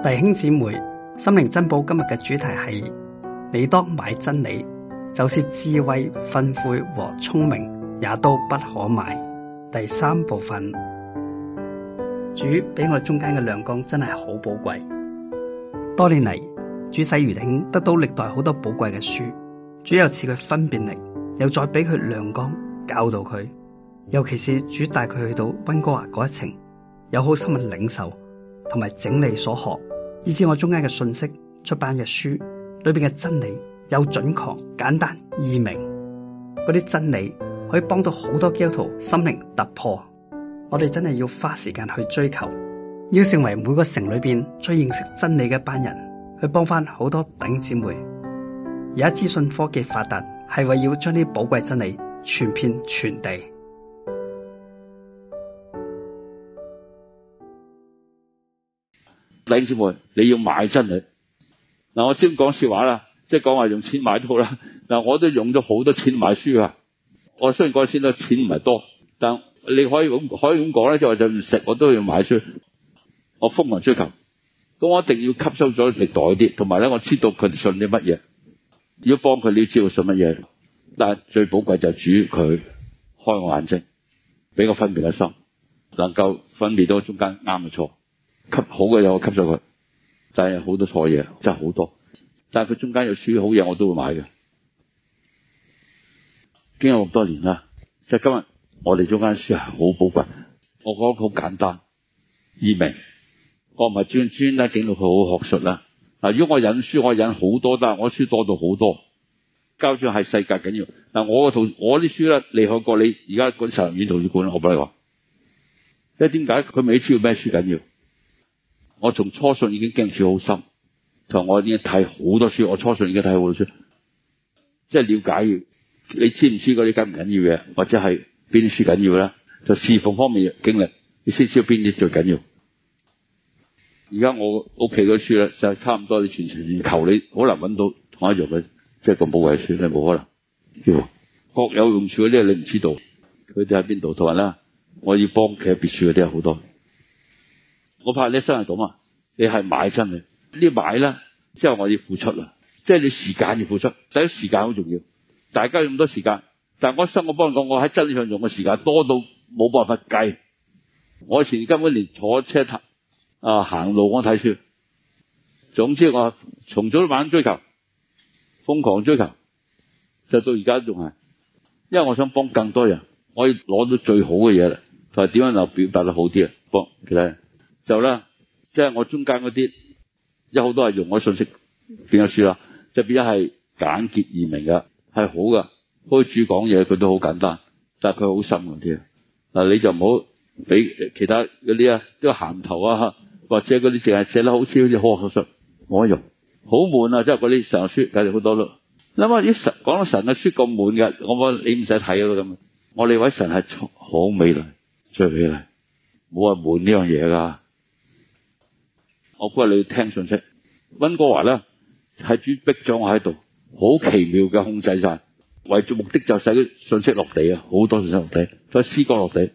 弟兄姊妹，心靈珍寶今日嘅主題係你當買真理，就是智慧、訓誨和聰明也都不可買。第3部分，主俾我哋中間嘅亮光真係好寶貴。多年嚟，主使余弟兄得到歷代好多寶貴嘅書，主又賜佢分辨力，又再俾佢亮光教導佢。尤其是主帶佢去到溫哥華嗰一程，有好深嘅領受同埋整理所學，以至我中間嘅信息、出版嘅書裏邊嘅真理有準確、簡單、易明。嗰啲真理可以幫到好多基督徒心靈突破。我哋真係要花時間去追求，要成為每個城裏邊最認識真理嘅一班人，去幫翻好多弟兄姊妹。而家資訊科技發達，係為要將啲寶貴真理傳遍全地。 弟兄姊妹，你要買真理。嗱，我先講笑話啦，即係講話用錢買都好啦。嗱，我都用咗好多錢買書啊。我雖然嗰陣時咧錢唔係多，但你可以咁講咧，即係話就唔食我都要買書。我瘋狂追求，咁我一定要吸收咗歷代啲，同埋咧我知道佢哋信啲乜嘢，如果幫佢，你要知道信乜嘢。但係最寶貴就係主佢開我眼睛，俾我分辨嘅心，能夠分辨到中間啱嘅錯。吸好嘅嘢我吸咗佢，但係好多錯嘢真係好多。但係佢中間有書好嘢我都會買嘅。經過咁多年啦，即係今日我哋中間書係好寶貴。我覺得好簡單易明，我唔係專登整到佢好學術啦。嗱，如果我引書我引好多，但係我書多到好多。交書係世界緊要。嗱，我啲書咧厲害過你而家嗰啲神學院圖書館，我俾你講。因為點解佢未知道咩書緊要？我從初信已經經書好深，同我已經睇好多書。我初信已經睇好多書，即係了解要你知唔知嗰啲緊唔緊要嘅，或者係邊啲書緊要咧？就侍奉方面嘅經歷，你先知道邊啲最緊要。而家我屋企嗰書咧，就差唔多你全程求你好難揾到同一樣嘅，即係咁寶貴書，你冇可能。各有用處嗰啲你唔知道，佢哋喺邊度？同埋咧，我要幫企喺別處嗰啲有好多。我怕你生係咁啊！你係買真理，呢買咧之後我要付出啦，即係你時間要付出。第一時間好重要，大家用咁多時間，但係我生我幫你講，我喺真理上用嘅時間多到冇辦法計。我以前根本連坐車行路我睇書，總之我從早到晚追求，瘋狂追求，就到而家仲係，因為我想幫更多人，我要攞到最好嘅嘢啦，同埋點樣就表達得好啲啊，幫其他人。就啦，即係我中間嗰啲有好多係用我信息變咗書啦，就變咗係簡潔易明嘅，係好噶。好似主講嘢佢都好簡單，但係佢好深嗰啲啊。嗱，你就唔好俾其他嗰啲啊，都鹹頭啊，或者嗰啲淨係寫得好似好學術冇得用，好悶啊！即係嗰啲神學書，簡直好多咯。諗下啲神講到神嘅書咁悶嘅，我話你唔使睇咯咁。我哋位神係好美麗，最美麗，冇話悶呢樣嘢噶。我估你要聽信息，溫哥華咧係主逼咗我喺度，好奇妙嘅控制晒，為咗目的就使啲信息落地啊，好多信息落地，再詩歌落地，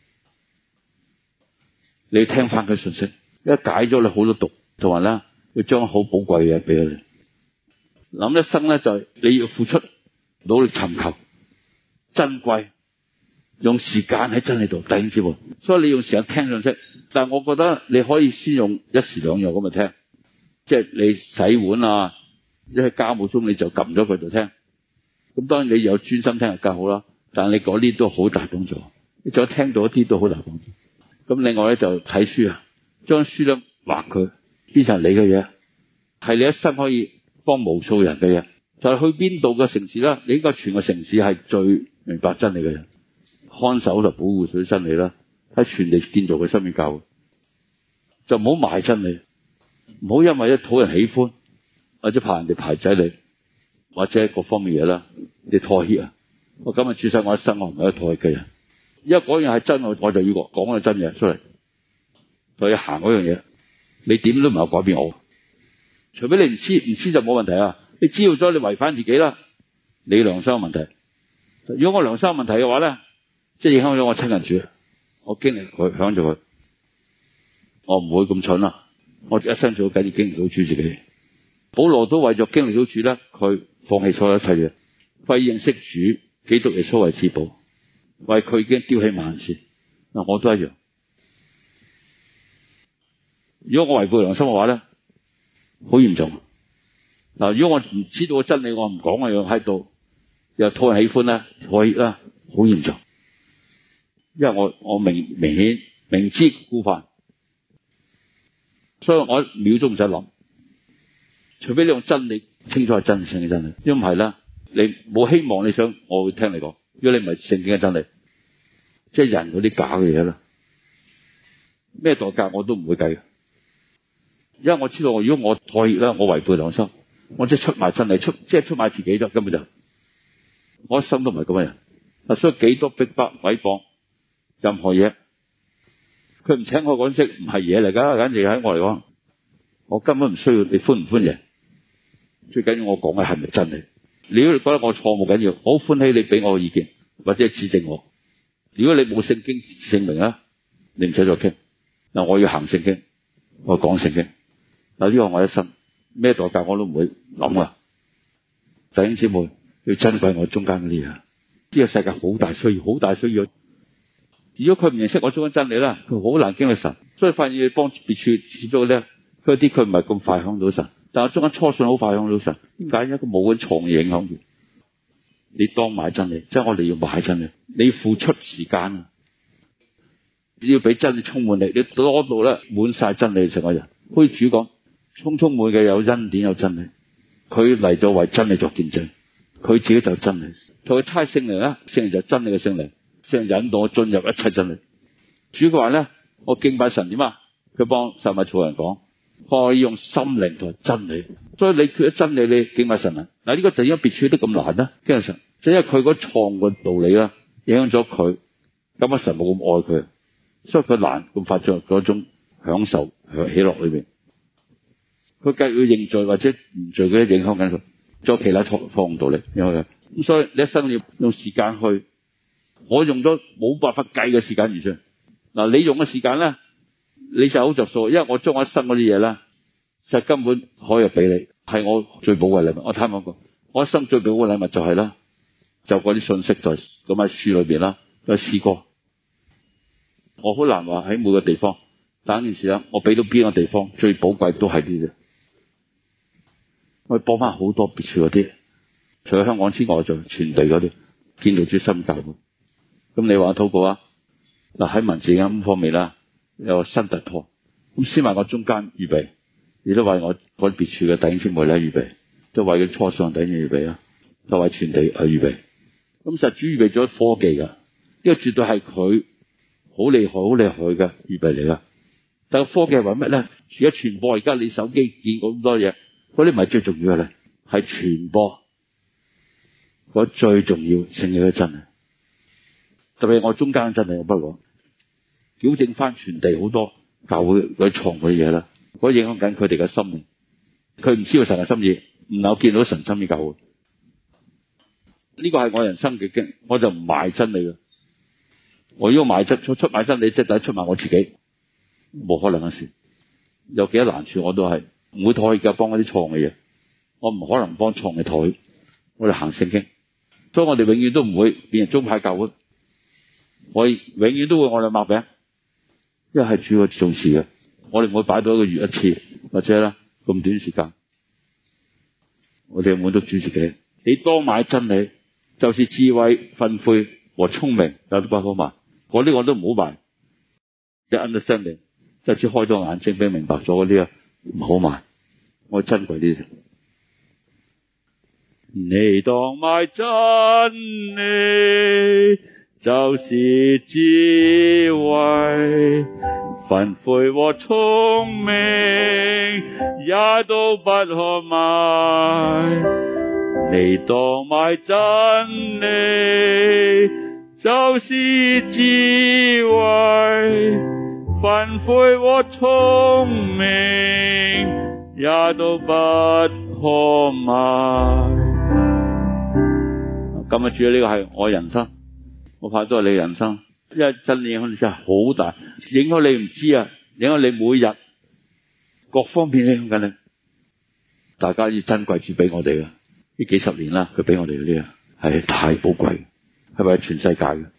你要聽翻佢信息，一解咗你好多毒，同埋咧要將好寶貴嘅嘢俾佢哋。諗一生咧就係你要付出，努力尋求，珍貴，用時間喺真理度，弟兄姊妹，所以你用時間聽信息。但係我覺得你可以先用一時兩樣咁去聽，即係你洗碗啊，一喺家務中你就撳咗佢就聽。咁當然你有專心聽就更好啦，但係你嗰啲都好大幫助，你再聽到一啲都好大幫助。咁另外咧就睇書啊，將書咧畫佢變成你嘅嘢，係你一生可以幫無數人嘅嘢。就係去邊度嘅城市啦，你應該全個城市係最明白真理嘅人，看守就保護佢真理啦。喺全地建造佢生命教會，就唔好賣真理，唔好因為一討人喜歡，或者怕人哋排擠你，或者各方面嘢啦，你妥協啊！我今日處世我一生，我唔係一妥協嘅人。因為嗰樣係真，我就要講個真嘢出嚟，就要行嗰樣嘢。你點都唔係改變我，除非你唔知就冇問題啊！你知道咗，你違反自己啦，你良心有問題。如果我良心有問題嘅話咧，即係影響咗我親近主。我經歷佢，響咗佢，我唔會咁蠢啦。 我一生最緊要經歷到主自己。保羅都為咗經歷到主咧，佢放棄所有一切嘢，為認識主基督耶穌為至寶，為佢已經丟棄萬事。嗱，我都一樣。如果我違背良心嘅話咧，好嚴重。嗱，如果我唔知道個真理，我唔講嘅樣喺度，又討人喜歡咧，妥協啦，好嚴重。因為我明顯明知故犯，所以我一秒都唔使諗，除非你用真理清楚係真聖嘅真理，因為唔係咧，你冇希望你想我會聽你講。如果你唔係聖經嘅真理，即係人嗰啲假嘅嘢啦，咩代價我都唔會計嘅，因為我知道如果我妥協啦，我違背良心，我即係出賣真理，即係出賣自己啫，根本就我一生都唔係咁嘅人。嗱，所以幾多逼迫毀謗任何嘢，佢唔請我講識唔係嘢嚟噶，簡直喺我嚟講，我根本唔需要你歡唔歡迎，最緊要我講嘅係咪真理。如果你覺得我錯冇緊要，我好歡喜你俾我嘅意見或者指正我。如果你冇聖經證明啊，你唔使再傾。嗱，我要行聖經，我講聖經。嗱，呢個我一生咩代價我都唔會諗啊。弟兄姊妹要珍貴我中間嗰啲嘢，呢個世界好大需要，好大需要。如果佢唔認識我中間真理啦，佢好難經歷神。所以發現要幫別處接觸咧，佢啲佢唔係咁快響到神，但係中間初信好快響到神。點解？因為佢冇嗰啲錯嘅影響住。你當買真理，即係我哋要買真理，你要付出時間啊！你要俾真理充滿你，你多到咧滿晒真理成個人。好似主講，充滿嘅有恩典有真理，佢嚟咗為真理作見證，佢自己就真理。佢差聖靈咧，聖靈就真理嘅聖靈，聖靈引導我進入一切真理。主佢話咧，我敬拜神點啊？佢幫撒瑪利亞人講，可以用心靈同真理。所以你缺咗真理，你敬拜神啊？嗱，呢個就因為別處都咁難啦，敬拜神，就因為佢嗰錯嘅道理啦，影響咗佢，咁啊神冇咁愛佢，所以佢難咁發出嗰種享受喜樂裏邊。佢繼續認罪或者唔罪嗰啲影響緊佢，仲有其他錯誤道理影響佢。咁所以你一生要用時間去，我用咗冇辦法計嘅時間預算。嗱，你用嘅時間咧，你就好着數，因為我將我一生嗰啲嘢咧，實根本可以俾你，係我最寶貴嘅禮物。我睇講過，我一生最寶貴嘅禮物就係啦，就嗰啲信息在咁喺書裏邊啦，都係詩歌。我好難話喺每個地方，但係件事啦，我俾到邊個地方最寶貴都係呢啲。我幫翻好多別處嗰啲，除咗香港之外，就全地嗰啲見到主新教會。咁你話禱告啊？嗱，喺文字咁方面啦，有個新突破。咁先為我中間預備，亦都為我嗰啲別處嘅弟兄姊妹咧預備，都為佢初信弟兄預備啊，都為全地去預備。咁實主預備咗科技噶，呢個絕對係佢好厲害、好厲害嘅預備嚟噶。但係科技係為乜咧？而家傳播，而家你手機見過咁多嘢，嗰啲唔係最重要嘅咧，係傳播嗰最重要聖經嘅真理。特別係我中間真理，我不過矯正翻全地好多教會嗰啲錯嗰啲嘢啦，嗰影響緊佢哋嘅心靈。佢唔知道神嘅心意，唔能夠見到神心意教會。呢個係我人生嘅經歷，我就唔賣真理嘅。我如果賣真出賣真理，即係等於出賣我自己，冇可能嘅事。有幾多難處我都係唔會妥協嘅，幫嗰啲錯嘅嘢，我唔可能幫錯嘅妥協。我哋行聖經，所以我哋永遠都唔會變成宗派教會。我永遠都會我哋擘餅，因為係主要重視嘅。我哋唔會擺到一個月一次，或者啦咁短時間。我哋滿足主自己。你多買真理，就是智慧、訓誨和聰明，有都不可買。嗰啲我都唔好買。一 understanding， 即係只開咗眼睛俾明白咗嗰啲啊，唔好買。我珍貴啲。你當買真理，就是智慧、訓誨和聰明，也都不可買。你當買真理，就是智慧、訓誨和聰明，也都不可買。今日主要呢個係我人生，我怕都係你人生，因為真理影響力真係好大，影響你唔知啊，影響你每日各方面影響緊你。大家要珍貴主俾我哋嘅呢幾十年啦，佢俾我哋嗰啲啊係太寶貴，係為全世界嘅。